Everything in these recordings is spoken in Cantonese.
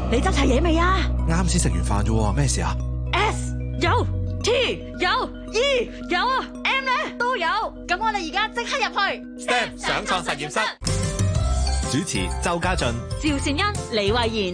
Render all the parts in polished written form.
你執齊嘢未啊？ 啱先食完飯啫，咩事啊 ？S 有 ，T 有 ，E 有啊 ，M 咧都有。咁我哋而家即刻入去 STEM 上創實驗室。主持周家俊、 趙善恩、李慧妍。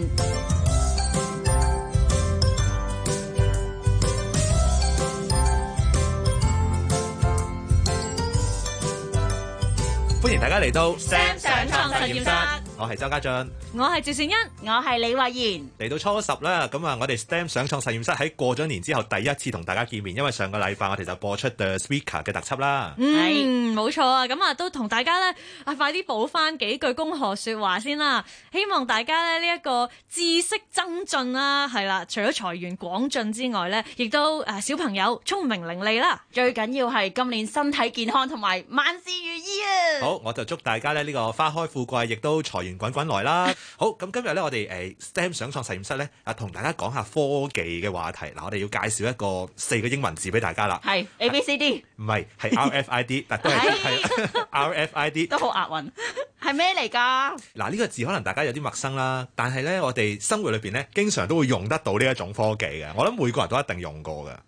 歡迎大家嚟到 STEM 上創實驗室。 我係周家俊， 我係趙善恩，我係李慧妍。 嚟到初10啦，咁啊，我哋 STEM 上創實驗室喺過咗年之後第一次同大家見面，因為上個禮拜我哋就播出 The Speaker 嘅特輯啦。 冇錯啊，咁啊都同大家咧快啲補翻幾句恭賀說話先啦，希望大家咧呢一個知識增進啦，係啦，除咗財源廣進之外咧，亦都小朋友聰明伶俐啦， 最緊要係今年身體健康同埋萬事如意啊！ 好，我就祝大家咧呢個花開富貴，亦都財源滾滾來啦。好，咁今日咧我哋STEM 上創實驗室咧同大家講下科技嘅話題。嗱，我哋要介紹一個4個英文字俾大家啦。 係 ABCD， 唔係，係 RFID， 但都係RFID， 都好押韻。係咩嚟㗎？ 嗱，呢個字可能大家有啲陌生啦，但係咧我哋生活裏邊咧經常都會用得到呢一種科技嘅。我諗每個人都一定用過嘅。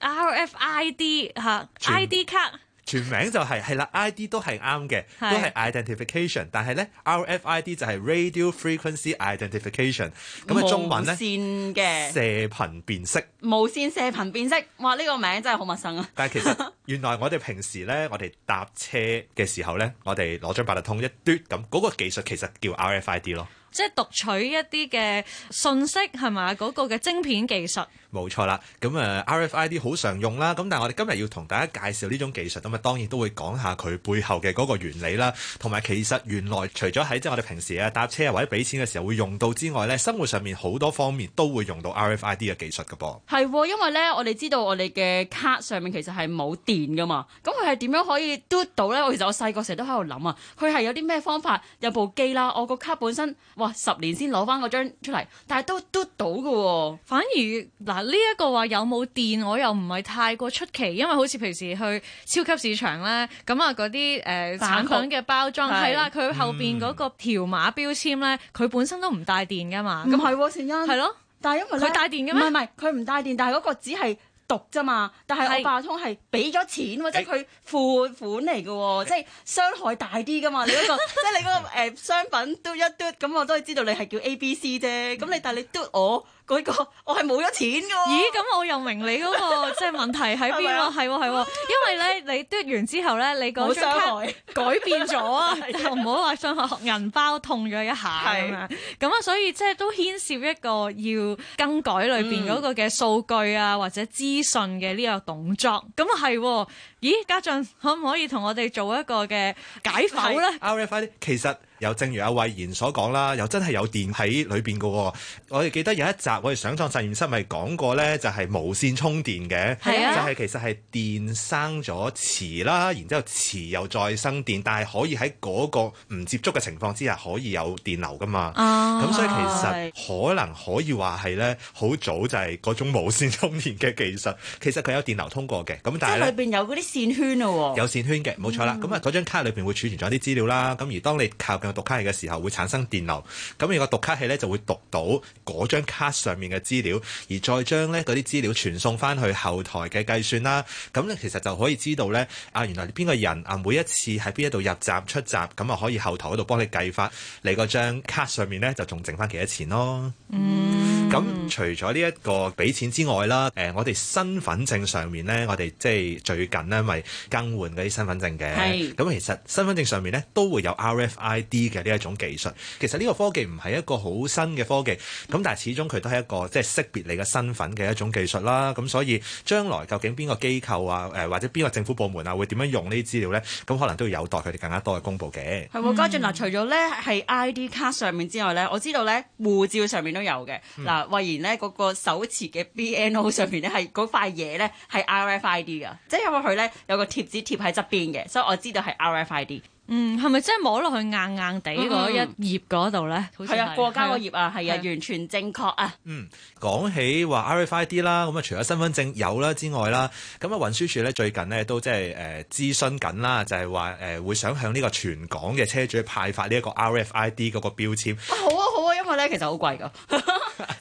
RFID 嚇 ID 卡。 全名就係啦 ，ID 都係啱嘅，都係 identification， 但係咧 RFID 就係 Radio Frequency Identification， 咁嘅中文咧無線嘅射頻辨識。 無線射頻辨識，哇！呢個名真係好陌生啊！ 但係其實原來我哋平時咧，我哋搭車嘅時候咧，我哋攞張八達通一嘟咁，嗰個技術其實叫 RFID 咯。 即係讀取一啲嘅信息係咪嗰個嘅晶片技術？ 冇錯啦，咁RFID 好常用啦，咁但係我哋今日要同大家介紹呢種技術，咁當然都會講下佢背後嘅嗰個原理啦，同埋其實原來除咗喺即係我哋平時搭車或者俾錢嘅時候會用到之外咧，生活上面好多方面都會用到 RFID 嘅技術㗎噃。 係，因為咧我哋知道我哋嘅卡上面其實係冇電㗎嘛，咁佢係點樣可以嘟到咧？其實我細個成日都喺度諗啊，佢係有啲咩方法？有部機啦，我個卡本身10年先攞翻嗰張出嚟，但係都嘟到㗎喎。 反而嗱呢一個話有冇電，我又唔係太過出奇，因為好似平時去超級市場咧，咁啊嗰啲產品嘅包裝係啦，佢後邊嗰個條碼標籤咧，佢本身都唔帶電㗎嘛。 唔係喎，善恩。係咯，但係因為佢帶電嘅咩？ 唔係，佢唔帶電，但係嗰個只係讀啫嘛，但係我八達通係俾咗錢喎，即係佢付款嚟嘅喎，即係傷害大啲㗎嘛。你嗰個即係你嗰個商品嘟一嘟，咁我都係知道你係叫 ABC 啫。咁但係你嘟我嗰個，我係冇咗錢㗎喎。 咦？咁我又明你嗰個即係問題喺邊咯？係喎，因為咧你嘟完之後咧，你嗰張卡改變咗啊，就唔好話傷害銀包痛咗一下咁樣。咁啊，所以即係都牽涉一個要更改裏邊嗰個嘅數據啊，或者資訊嘅呢個動作。咁啊係，咦？家俊可唔可以同我哋做一個嘅解剖咧 ？RFID 其實又正如阿慧妍所講啦，又真係有電喺裏邊嘅喎。我哋記得有一集我哋上創實驗室咪講過咧，就係無線充電嘅，就係其實係電生咗磁啦，然之後磁又再生電，但係可以喺嗰個唔接觸嘅情況之下可以有電流噶嘛。咁所以其實可能可以話係咧，好早就係嗰種無線充電嘅技術。其實佢有電流通過嘅，咁但係咧， 裏邊有嗰啲線圈咯喎。 有線圈嘅，冇錯啦。咁嗰張卡裏邊會儲存咗啲資料啦。咁而當你靠近讀卡器嘅時候會產生電流，咁而個讀卡器咧就會讀到嗰張卡上面嘅資料，而再將咧嗰啲資料傳送翻去後台嘅計算啦。咁咧其實就可以知道咧原來邊個人每一次喺邊一度入閘出閘，咁啊可以後台嗰度幫你計翻你嗰張卡上面咧就仲剩翻幾多錢咯。咁除咗呢一個俾錢之外啦，我哋身份證上面咧，我哋即係最近咧咪更換嗰啲身份證嘅。咁其實身份證上面咧都會有 RFID 嘅呢一種技術。其實呢個科技唔係一個好新嘅科技，咁但係始終佢都係一個即係識別你嘅身份嘅一種技術啦。咁所以將來究竟邊個機構啊，或者邊個政府部門啊會點樣用呢啲資料咧？咁可能都要有待佢哋更加多嘅公佈嘅。 係喎，家俊嗱，除咗咧係 ID 卡上面之外咧，我知道咧護照上面都有嘅。嗱，慧妍咧嗰個手持嘅 BNO 上面咧係嗰塊嘢咧係 RFID 㗎，即係因為佢咧有個貼紙貼喺側邊嘅，所以我知道係 RFID。 係咪真係摸落去硬硬地嗰一頁嗰度咧？ 係啊，過膠嗰頁啊，係啊，完全正確啊。 講起話 RFID 啦，咁啊除咗身份證有啦之外啦，咁啊運輸署咧最近咧都即係諮詢緊啦，就係話會想向呢個全港嘅車主派發呢一個 RFID 嗰個標籤。 好啊，因為咧其實好貴㗎。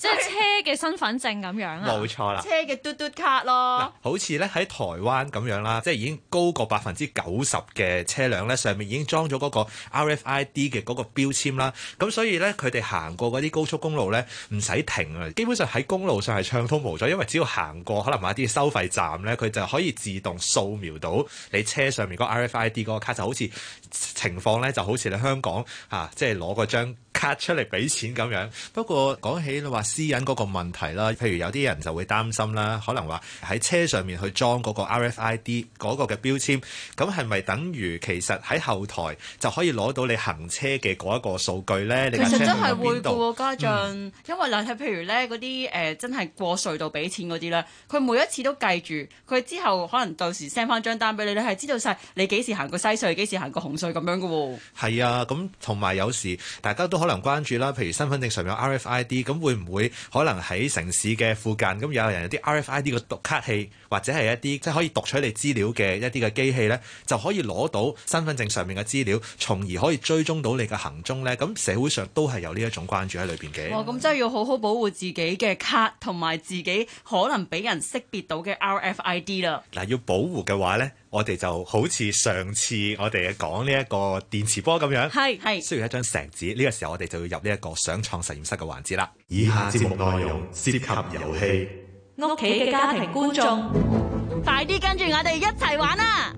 即係車嘅身份證咁樣啊。 冇錯啦。 車嘅嘟嘟卡咯。 好似咧喺台灣咁樣啦，即係已經高過90%嘅車輛咧，上面已經裝咗嗰個 RFID 嘅嗰個標籤啦。咁所以咧，佢哋行過嗰啲高速公路咧，唔使停啊。基本上喺公路上係暢通無阻，因為只要行過可能某一啲收費站咧，佢就可以自動掃描到你車上面嗰個 RFID 嗰個卡，就好似情況咧，就好似你香港即係攞嗰張卡出嚟俾錢咁樣。不過講起你話私隱嗰個問題啦，譬如有啲人就會擔心啦，可能話喺車上面去裝嗰個 RFID 嗰個嘅標籤，咁係咪等於其實喺後台就可以攞到你行車嘅嗰一個數據咧？你架車去其實真係咗邊度？ 會嘅喎，家俊，因為嗱，譬如咧嗰啲真係過隧道俾錢嗰啲咧，佢每一次都計住，佢之後可能到時 send 翻張單俾你，你係知道晒你幾時行過西隧，幾時行過紅隧咁樣嘅喎。 係啊，咁同埋有時大家都可能關注啦，譬如身份證上面有 RFID，咁會唔會可能喺城市嘅附近咁有人有啲 RFID 嘅讀卡器，或者係一啲即係可以讀取你資料嘅一啲嘅機器呢，就可以攞到身份證上面嘅資料，從而可以追蹤到你嘅行蹤呢？咁社會上都係有呢一種關注喺裏邊嘅。 哇！咁真係要好好保護自己嘅卡同埋自己可能俾人識別到嘅 RFID 啦。 嗱，要保護嘅話呢，我哋就好似上次我哋講呢一個電磁波咁樣， 係需要一張石紙。呢個時候我哋就要入呢一個想創實驗室嘅環節啦。以下節目內容涉及遊戲， 屋企嘅家庭觀眾， 快啲跟住我哋一齊玩啊！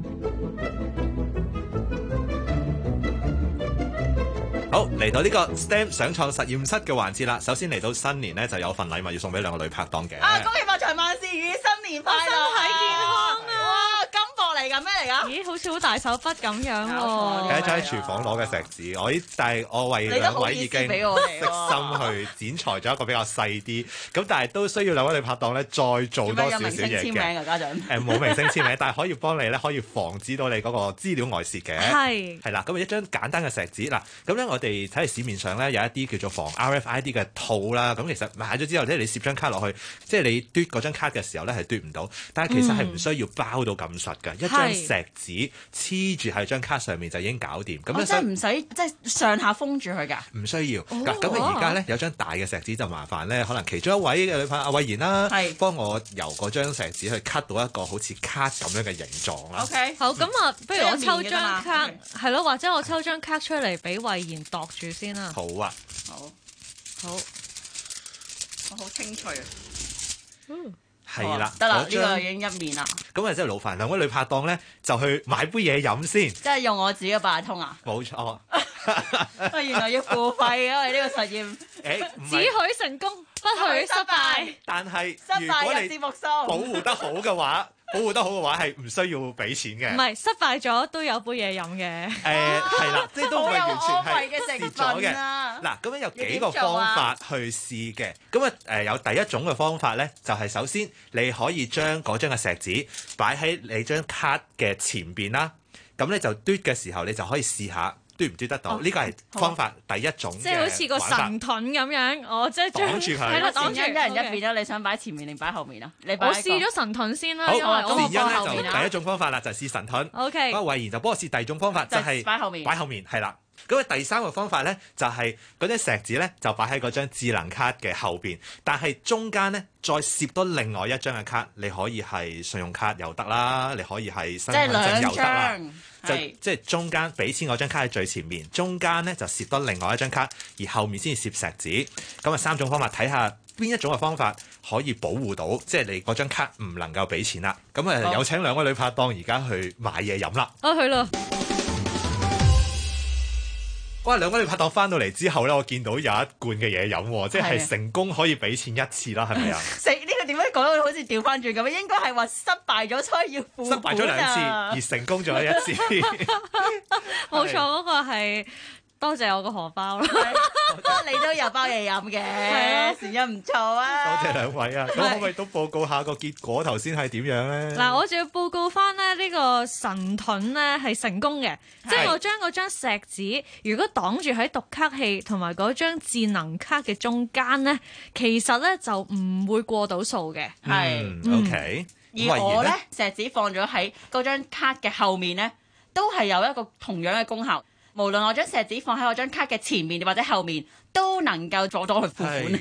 好，嚟到呢個 STEM 想創實驗室嘅環節啦。首先嚟到新年呢，就有份禮物要送俾兩個女拍檔嘅。 恭喜發財萬事如意，新年快樂， 身體健康啊！ 哇，金箔嚟㗎，咩嚟㗎？ 咦，好似好大手筆咁樣搞錯喎。 係一張喺廚房攞嘅石紙，但係我為兩位已經你都好意思俾我哋悉心去剪裁咗一個比較細啲，咁但係都需要兩位女拍檔咧再做多少少嘢有明星簽名嘅。 啊，家長？ 冇明星簽名，但係可以幫你咧，可以防止到你嗰個資料外泄嘅。係啦，咁一張簡單嘅石紙嗱，咁咧我哋睇下市面上咧有一啲叫做防 RFID 嘅套啦，咁其實買咗之後咧，你攝張卡落去，即係你嘟嗰張卡嘅時候咧係嘟唔到，但係其實係唔需要包到咁實嘅，一張石紙黐住喺張卡上面就已經搞掂。咁真係唔使即係上下封住佢㗎？ 唔需要。咁而家咧有張大嘅石紙就麻煩咧，可能其中一位嘅女朋友阿慧賢啦，幫我由嗰張石紙去 cut 到一個好似卡咁樣嘅形狀啦。 OK， 好，咁啊，不如我抽張卡， 嗯係咯，或者我抽張卡出嚟俾慧賢度住先啦。 好啊， 好，我好清脆啊！ 係啦， 得啦，呢嗰張個已經一面啦。 咁啊，真係勞煩兩位女拍檔咧，就去買杯嘢飲先。 即係用我自己嘅八達通啊！ 冇錯。 原來要付費，因為呢個實驗只許成功，不許失敗。 但係失如果你敗入節目數， 保護得好嘅話，係唔需要俾錢嘅。 唔係失敗咗都有杯嘢飲嘅。 係啦，即係都唔係完全好有安慰嘅係成蝕咗嘅。 分啊嗱，咁樣有幾個方法去試嘅。咁有第一種嘅方法咧，就係首先你可以將嗰張嘅石紙擺喺你張卡嘅前邊啦。咁咧就嘟嘅時候，你就可以試下嘟唔嘟得到。呢個係方法第一種嘅玩法。 即係好似個神盾咁樣，即係擋住佢。 係啦，擋住一人一邊啦。你想擺前面定擺後面啊？ 我試咗神盾先啦， 好， 因為我善欣後面咧就第一種方法啦，就係試神盾。 OK， 不過慧賢就幫我試第二種方法，就係擺後面。 擺後面係啦。咁第三個方法咧，就係嗰啲石紙咧，就擺喺嗰張智能卡嘅後邊，但係中間咧再攝多另外一張嘅卡，你可以係信用卡又得啦，你可以係身份證又得啦。即係中間俾錢嗰張卡喺最前面，中間咧就攝多另外一張卡，而後面先至攝石紙。咁啊三種方法，睇下邊一種嘅方法可以保護到，即係你嗰張卡唔能夠俾錢啦。咁啊有請兩位女拍檔而家去買嘢飲啦。 去啦。 哇！兩位女拍檔翻到嚟之後咧，我見到有一罐嘅嘢飲，即係成功可以俾錢一次啦，係咪啊？ 呢個點解講到好似調翻轉咁？應該係話失敗咗，所以要付本啊。 失敗咗兩次，而成功咗一次。 冇錯，嗰個係。多謝我個荷包啦， 不過你都有包嘢飲嘅，善欣唔錯啊！ 多謝兩位啊！咁可唔可以都報告下個結果頭先係點樣咧？ 嗱，我就要報告翻咧呢個神盾咧係成功嘅，即係我將嗰張石紙如果擋住喺讀卡器同埋嗰張智能卡嘅中間咧，其實咧就唔會過到數嘅。 係，OK。 而我咧石紙放咗喺嗰張卡嘅後面咧，都係有一個同樣嘅功效。無論我將石紙放喺我張卡嘅前面或者後面，都能夠阻到佢付款。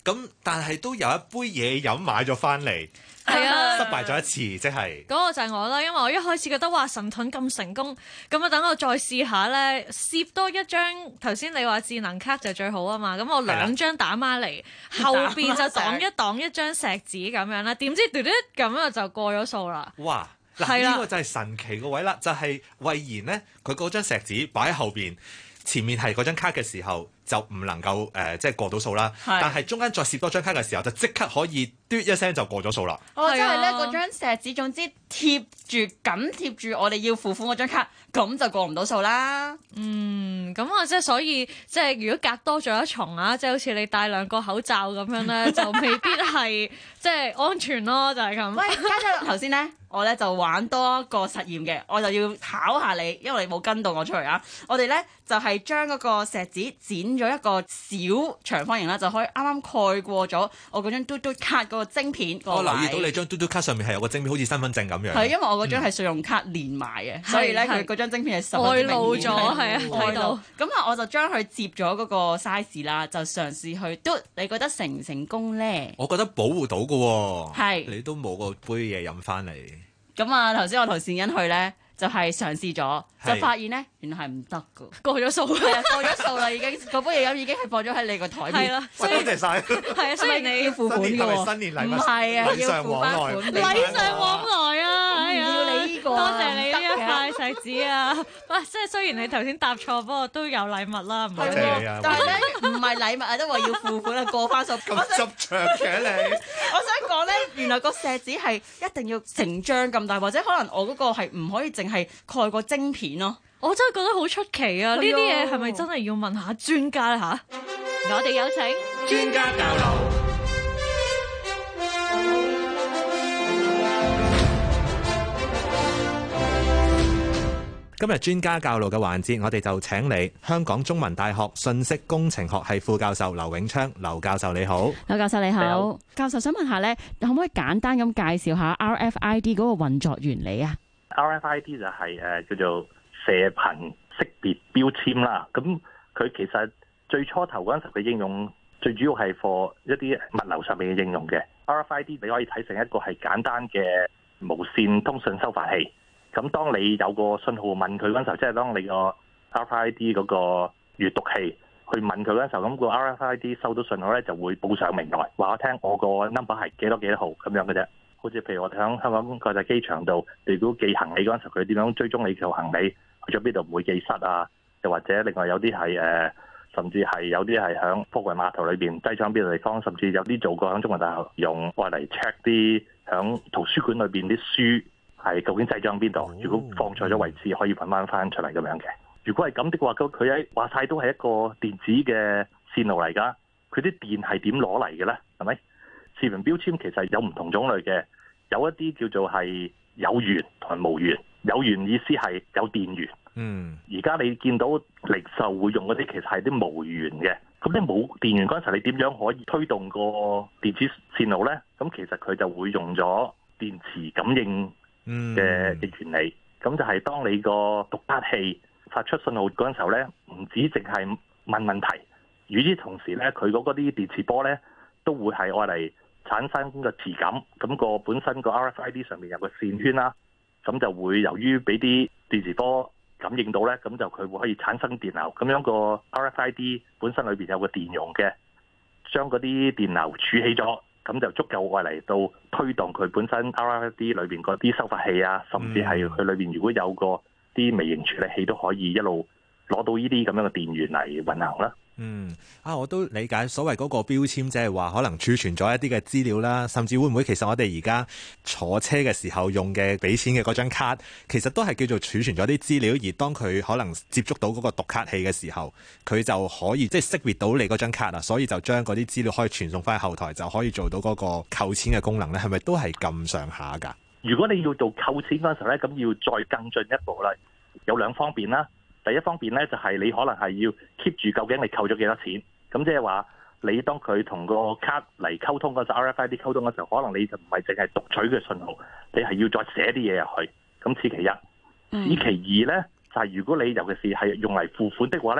咁但係都有一杯嘢飲買咗翻嚟。 係啊， 失敗咗一次，即係嗰個就係我啦，因為我一開始覺得哇神盾咁成功，咁啊等我再試下咧，攝多一張頭先你話智能卡就最好啊嘛，咁我2張打孖嚟，後邊就擋一擋一張石子咁樣啦，點知嘟嘟咁啊就過咗數啦。 哇！嗱呢個就係神奇個位啦，就係慧賢呢，佢嗰張石子擺喺後邊，前面係嗰張卡嘅時候就唔能夠即係過到數啦，但係中間再攝多張卡嘅時候就即刻可以嘟一聲就過咗數啦。 哦，即係咧嗰張石子總之貼住我哋要付款嗰張卡，咁就過唔到數啦。 咁啊，即係所以即係如果隔多咗一重啊，即係好似你戴2個口罩咁樣咧，就未必係即係安全咯，就係咁。 喂，家長頭先咧，我咧就玩多一個實驗嘅，我就要考下你，因為你冇跟到我出嚟啊。我哋咧就係將嗰個石子剪咗一個小長方形啦，就可以啱啱蓋過咗我嗰張嘟嘟卡嗰個晶片。 我留意到你張嘟嘟卡上面係有個晶片，好似身份證咁樣。 係因為我嗰張係信用卡連埋嘅，所以咧佢嗰張晶片係外露咗，係啊，睇到。 咁啊，我就將佢接咗嗰個 size 啦，就嘗試去嘟。你覺得成唔成功咧？ 我覺得保護到㗎喎。 係。 你都冇個杯嘢飲翻嚟。 咁啊，頭先我同善欣去咧，就係嘗試咗，就發現咧原來係唔得㗎， 過咗數， 係啊，過咗數啦已經，嗰杯嘢飲已經係放咗喺你個台面。 係啦， 多謝晒。 係啊，雖然你要付款㗎喎， 新年禮物唔係啊，要付翻款， 禮尚往來啊！ 唔要你呢個， 多謝你呢一塊石子啊！喂，即係雖然你頭先答錯，不過都有禮物啦，唔多謝你啊！ 但係咧唔係禮物啊，都話要付款啊，過翻數。 咁執着嘅你， 我想講咧，原來個石子係一定要成張咁大，或者可能我嗰個係唔可以淨係蓋個晶片咯。 我真係覺得好出奇啊！呢啲嘢係咪真係要問下專家咧嚇？我哋有請專家教路。今日專家教路嘅環節，我哋就請嚟香港中文大學信息工程學系副教授劉永昌。劉教授你好。 劉教授你好。你好。教授想問下咧，可唔可以簡單咁介紹下 RFID 嗰個運作原理啊？ RFID 就係叫做射頻識別標籤啦。咁佢其實最初頭嗰陣時嘅應用，最主要係 for 一啲物流上面嘅應用嘅。RFID 你可以睇成一個係簡單嘅無線通訊收發器。咁當你有個信號問佢嗰陣時候，即係當你個 RFID 嗰個閱讀器去問佢嗰陣時候，咁個 RFID 收到信號咧就會報上名來，話我聽我個 number 係幾多號咁樣嘅啫。好似譬如我哋喺香港國際機場度，如果寄行李嗰陣時候，佢點樣追蹤你條行李去咗邊度唔會寄失啊？又或者另外有啲係甚至係有啲係喺貨櫃碼頭裏邊擠咗喺邊度地方，甚至有啲做過喺中文大學用愛嚟 check 啲喺圖書館裏邊啲書。係究竟擠咗喺邊度？如果放錯咗位置，可以揾翻出嚟咁樣嘅。如果係咁的話，佢喺話晒都係一個電子嘅線路嚟㗎。佢啲電係點攞嚟嘅咧？係咪？視頻標籤其實有唔同種類嘅，有一啲叫做係有源同埋無源。有源意思係有電源。而家你見到零售會用嗰啲，其實係啲無源嘅。咁你冇電源嗰陣時，你點樣可以推動個電子線路咧？咁其實佢就會用咗電磁感應嘅原理，咁就係當你個讀卡器發出信號嗰陣時候咧，唔止淨係問問題，與之同時咧，佢嗰啲電磁波咧都會係愛嚟產生個磁感，咁個本身個 RFID 上面有個線圈啦，咁就會由於俾啲電磁波感應到咧，咁就佢會可以產生電流，咁樣個 RFID 本身裏邊有個電容嘅，將嗰啲電流儲起咗。咁就足夠愛嚟到推動佢本身 RFID 裏邊嗰啲收發器啊，甚至係佢裏邊如果有個啲微型處理器都可以一路攞到呢啲咁樣嘅電源嚟運行啦。 我都理解所謂嗰個標籤，即係話可能儲存咗一啲嘅資料啦，甚至會唔會其實我哋而家坐車嘅時候用嘅俾錢嘅嗰張卡，其實都係叫做儲存咗啲資料，而當佢可能接觸到嗰個讀卡器嘅時候，佢就可以即係識別到你嗰張卡啊，所以就將嗰啲資料可以傳送翻去後台，就可以做到嗰個扣錢嘅功能咧，係咪都係咁上下㗎？如果你要做扣錢嗰陣時候咧，咁要再更進一步啦，有兩方面啦。第一方面咧，就係你可能係要 keep 住究竟你扣咗幾多錢，咁即係話你當佢同個卡嚟溝通嗰陣 RFID 溝通嘅時候，可能你就唔係淨係讀取嘅信號，你係要再寫啲嘢入去。咁此其一，此其二咧，就係如果你尤其是係用嚟付款的話咧，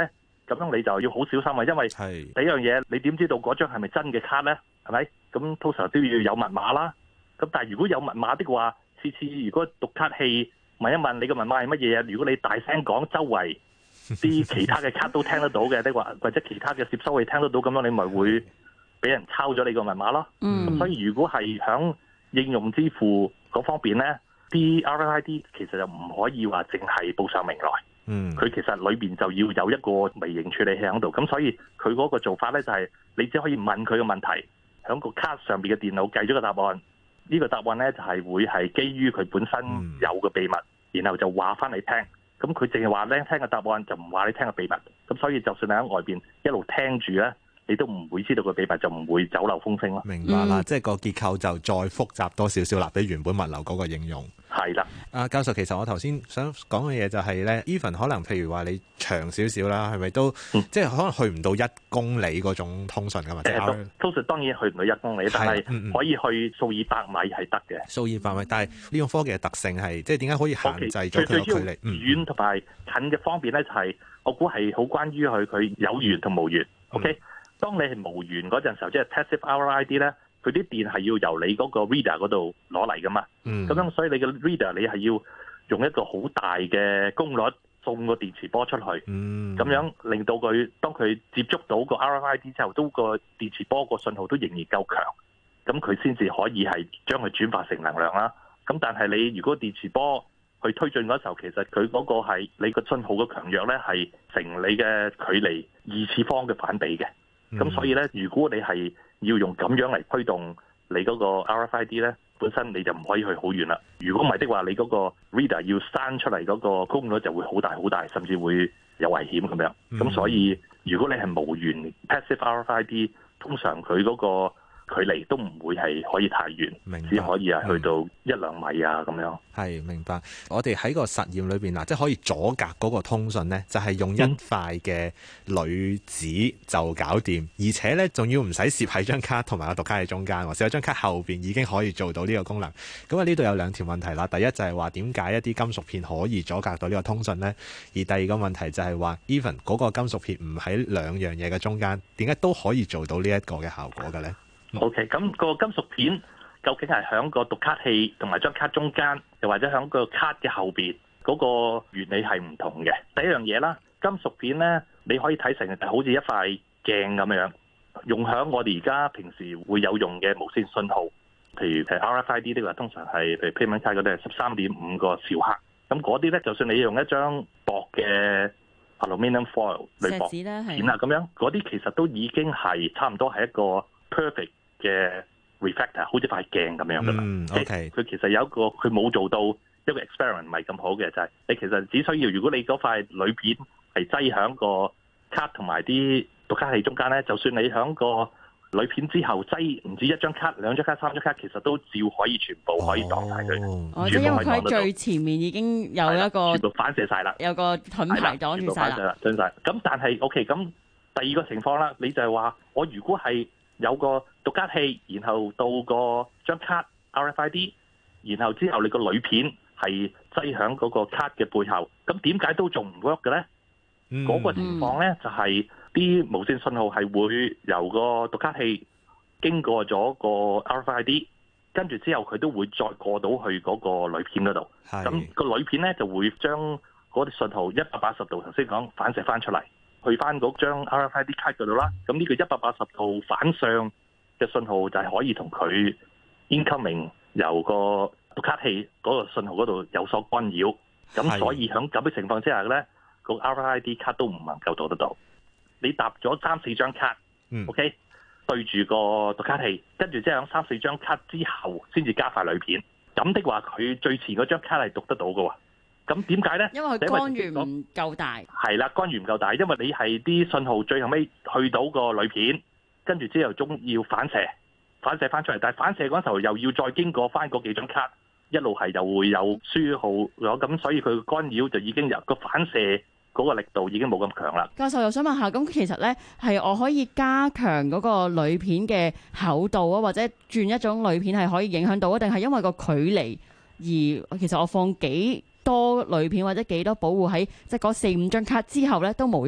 咁樣你就要好小心啊，因為第一樣嘢你點知道嗰張係咪真嘅卡咧？係咪？咁通常都要有密碼啦。咁但係如果有密碼的話，次次如果讀卡器問一問你嘅密碼係乜嘢啊？如果你大聲講，周圍啲其他嘅卡都聽得到嘅，的話或者其他嘅接收器聽得到，咁樣你咪會俾人抄咗你個密碼咯。咁所以如果係響應用支付嗰方面咧，啲 RFID 其實就唔可以話淨係報上名來。佢其實裏邊就要有一個微型處理器喺度，咁所以佢嗰個做法咧就係你只可以問佢嘅問題，喺個卡上邊嘅電腦計咗個答案，呢個答案咧就係會係基於佢本身有嘅秘密，然後就話翻你聽，咁佢淨係話咧聽嘅答案就唔話你聽嘅秘密，咁所以就算你喺外邊一路聽住咧，你都唔會知道個秘密，就唔會走漏風聲咯。 明白啦，即係個結構就再複雜多少少啦，比原本物流嗰個應用。 係啦， 教授，其實我頭先想講嘅嘢就係咧 ，even 可能譬如話你長少少啦，係咪都、即係可能去唔到1公里嗰種通訊㗎嘛？ 通訊當然去唔到1公里，但係可以去數以百米係得嘅。 數以百米，但係呢種科技嘅特性係，即係點解可以限制咗佢個距離？ 遠同埋近嘅方面咧，就係我估係好關於佢有源同無源。OK，當你係無源嗰陣時候，即係 passive RFID 咧。佢啲電係要由你嗰個 reader 嗰度攞嚟噶嘛，咁樣所以你嘅 reader 你係要用一個好大嘅功率送個電磁波出去，咁樣令到佢當佢接觸到個 RFID 之後，都個電磁波個信號都仍然夠強，咁佢先至可以係將佢轉化成能量啦。咁但係你如果電磁波去推進嗰時候，其實佢嗰個係你個信號嘅強弱咧係成你嘅距離2次方嘅反比嘅，咁所以咧如果你係要用咁樣嚟推動你嗰個 RFID 咧，本身你就唔可以去好遠啦。如果唔係的話，你嗰個 reader 要刪出嚟嗰個功率就會好大好大，甚至會有危險咁樣。咁所以如果你係無源 passive RFID，通常佢嗰個距離都唔會係可以太遠，只可以係去到1-2米啊咁樣。 係，明白。我哋喺個實驗裏邊嗱，即係可以阻隔嗰個通訊呢，就係用一塊嘅鋁紙就搞掂，而且呢仲要唔使攝喺張卡同埋個讀卡器中間，攝喺張卡後邊已經可以做到呢個功能。咁啊呢度有2條問題啦。第一就係話點解一啲金屬片可以阻隔到呢個通訊呢？而第二個問題就係話 even 嗰個金屬片唔喺兩樣嘢嘅中間，點解都可以做到呢一個嘅效果嘅呢？ OK， 咁個金屬片究竟係喺個讀卡器同埋張卡中間，又或者喺個卡嘅後邊，嗰個原理係唔同嘅。第一樣嘢啦，金屬片咧，你可以睇成好似一塊鏡咁樣，用喺我哋而家平時會有用嘅無線信號，譬如RFID 呢個通常係譬如 payment card 嗰啲係13.5個兆赫，咁嗰啲咧，就算你用一張薄嘅 aluminium foil 鋁箔片啊咁樣，嗰啲其實都已經係差唔多係一個 perfect 嘅 reflector， 好似塊鏡咁樣噶嘛。佢其實有一個佢冇做到一個 experiment 唔係咁好嘅，就係你其實只需要如果你嗰塊鋁片係擠喺個卡同埋啲讀卡器中間咧，就算你喺個鋁片之後擠唔止1張卡、2張卡、3張卡，其實都照可可以全部可以擋晒佢。 即係因為佢喺最前面已經有一個全部反射晒啦， 有個盾牌擋住晒啦。 咁但係 OK， 咁第二個情況啦，你就係話我如果係有個讀卡器，然後到個張卡 RFID， 然後之後你個鋁片係擠響嗰個卡嘅背後，咁點解都仲唔 work 嘅咧？嗰個情況咧就係啲無線信號係會由個讀卡器經過咗個 RFID， 跟住之後佢都會再過到去嗰個鋁片嗰度。咁個鋁片咧就會將嗰啲信號180度頭先講反射翻出嚟，去翻嗰張 RFID 卡嗰度啦。咁呢個180度反向嘅信號就係可以同佢 incoming 由個讀卡器嗰個信號嗰度有所干擾。咁所以喺咁嘅情況之下咧，個 RFID 卡都唔能夠做得到。你搭咗3-4張卡，OK， 對住個讀卡器，跟住之後喺3-4張卡之後先至加塊鋁片。咁的話，佢最前嗰張卡係讀得到嘅喎。咁點解咧？ 因為佢干預唔夠大。係啦，干預唔夠大，因為你係啲信號最後尾去到個鋁片，跟住之後仲要反射翻出嚟。但係反射嗰陣時候又要再經過翻嗰幾張卡，一路係又會有輸號咗，咁所以佢干擾就已經由個反射嗰個力度已經冇咁強啦。 教授又想問下，咁其實咧係我可以加強嗰個鋁片嘅厚度啊，或者轉一種鋁片係可以影響到啊？定係因為個距離而其實我放幾多鋁片或者幾多保護喺即係嗰4-5張卡之後咧都冇用咧？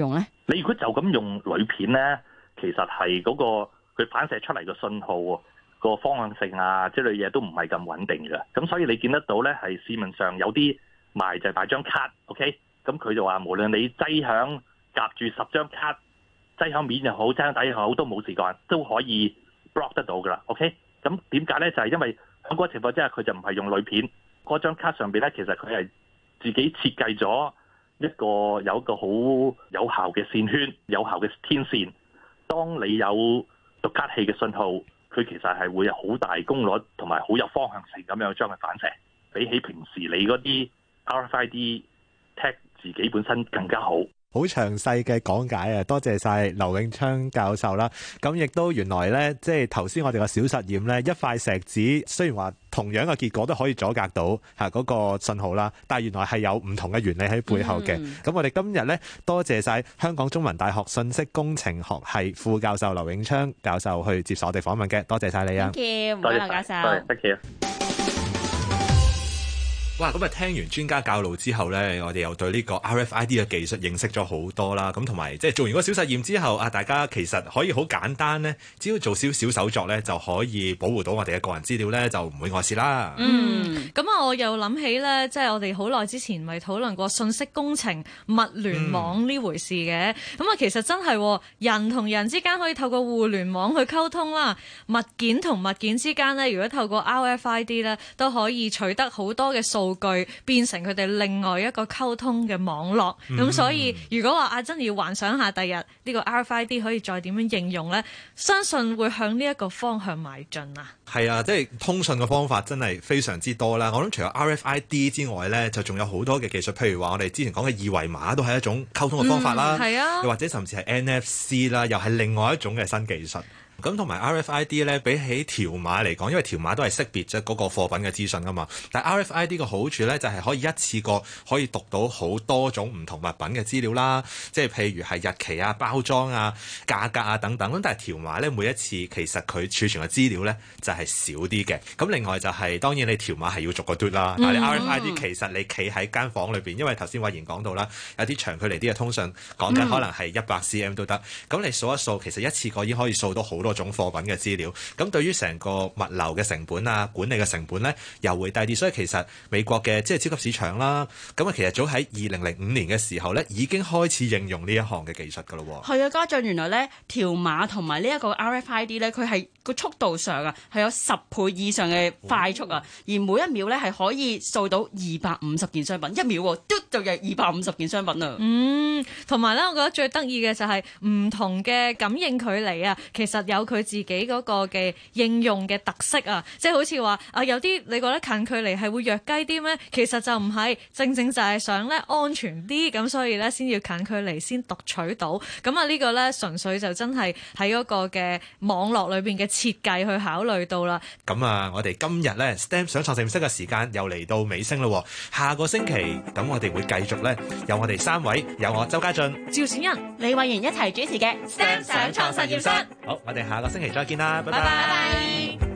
你如果就咁用鋁片咧，其實係嗰個佢反射出嚟嘅信號個方向性啊之類嘢都唔係咁穩定嘅。咁所以你見得到咧，係市面上有啲賣就係賣張卡 ，OK？ 咁佢就話無論你擠響夾住10張卡，擠響面又好，擠響底又好，都冇事幹，都可以 block 得到噶啦 ，OK？ 咁點解咧？就係因為喺嗰個情況之下，佢就唔係用鋁片，嗰張卡上邊咧，其實佢係自己設計咗有一個好有效嘅線圈、有效嘅天線。當你有讀卡器嘅信號，佢其實係會有好大功率同埋好有方向性咁樣將佢反射，比起平時你嗰啲 RFID tag 自己本身更加好。 好詳細嘅講解啊！多謝晒劉永昌教授啦。咁亦都原來呢，即係頭先我哋個小實驗呢，一塊石子雖然話同樣嘅結果都可以阻隔到嗰個信號啦，但係原來係有唔同嘅原理喺背後嘅。咁我哋今日呢，多謝晒香港中文大學信息工程學系副教授劉永昌教授去接受我哋訪問嘅，多謝晒你啊！ 多謝唔該劉教授。 多謝。 哇！咁啊，聽完專家教路之後呢，我哋又對呢個 RFID 嘅技術認識咗好多啦。咁同埋即係做完個小實驗之後啊，大家其實可以好簡單呢，只要做少少手作呢，就可以保護到我哋嘅個人資料呢，就唔會外泄啦。 咁啊，我又諗起呢，即係我哋好耐之前咪討論過信息工程物聯網呢回事嘅。咁啊，其實真係人同人之間可以透過互聯網去溝通啦，物件同物件之間呢，如果透過 RFID 呢，都可以取得好多嘅數據，變成佢哋另外一個溝通嘅網絡。咁所以如果話阿珍要幻想下第日呢個 RFID 可以再點樣應用呢，相信會向呢一個方向邁進啊。 係啊，即係通訊嘅方法真係非常之多啦。我諗除咗 RFID 之外呢，就仲有好多嘅技術，譬如話我哋之前講嘅二維碼都係一種溝通嘅方法啦。 係啊， 又或者甚至係 NFC 啦，又係另外一種嘅新技術。咁同埋 RFID 咧，比起條碼嚟講，因為條碼都係識別咗嗰個貨品嘅資訊㗎嘛。但係 RFID 嘅好處咧，就係可以一次過可以讀到好多種唔同物品嘅資料啦。即係譬如係日期啊、包裝啊、價格啊等等。咁但係條碼咧，每一次其實佢儲存嘅資料咧就係少啲嘅。咁另外就係當然你條碼係要逐個嘟啦。但係你 RFID 其實你企喺間房裏邊，因為頭先偉賢講到啦，有啲長距離啲嘅通訊講緊可能係100 cm 都得。咁你數一數，其實一次過已經可以掃到好多種貨品嘅資料，咁對於成個物流嘅成本啊、管理嘅成本呢，又會低啲。所以其實美國嘅即係超級市場啦，咁啊其實早喺2005年嘅時候呢，已經開始應用呢一項嘅技術噶咯。 係啊，家長原來呢條碼同埋呢一個 RFID 呢，佢係個速度上啊係有10倍以上嘅快速啊，而每一秒呢係可以掃到250件商品，一秒嘟就有250件商品啊。 同埋呢，我覺得最得意嘅就係唔同嘅感應距離啊，其實有佢自己嗰個嘅應用嘅特色啊，即係好似話啊，有啲你覺得近距離係會弱雞啲咩？其實就唔係，正正就係想咧安全啲，咁所以咧先要近距離先讀取到。咁啊呢個咧純粹就真係喺嗰個嘅網絡裏邊嘅設計去考慮到啦。 咁啊，我哋今日咧 STEM 想創實驗室嘅時間又嚟到尾聲啦。下個星期咁我哋會繼續咧，有我哋3位，有我周家俊、 趙善恩、 李慧賢一齊主持嘅 STEM 想創實驗室。 好，我哋下個星期再見啦，拜拜拜。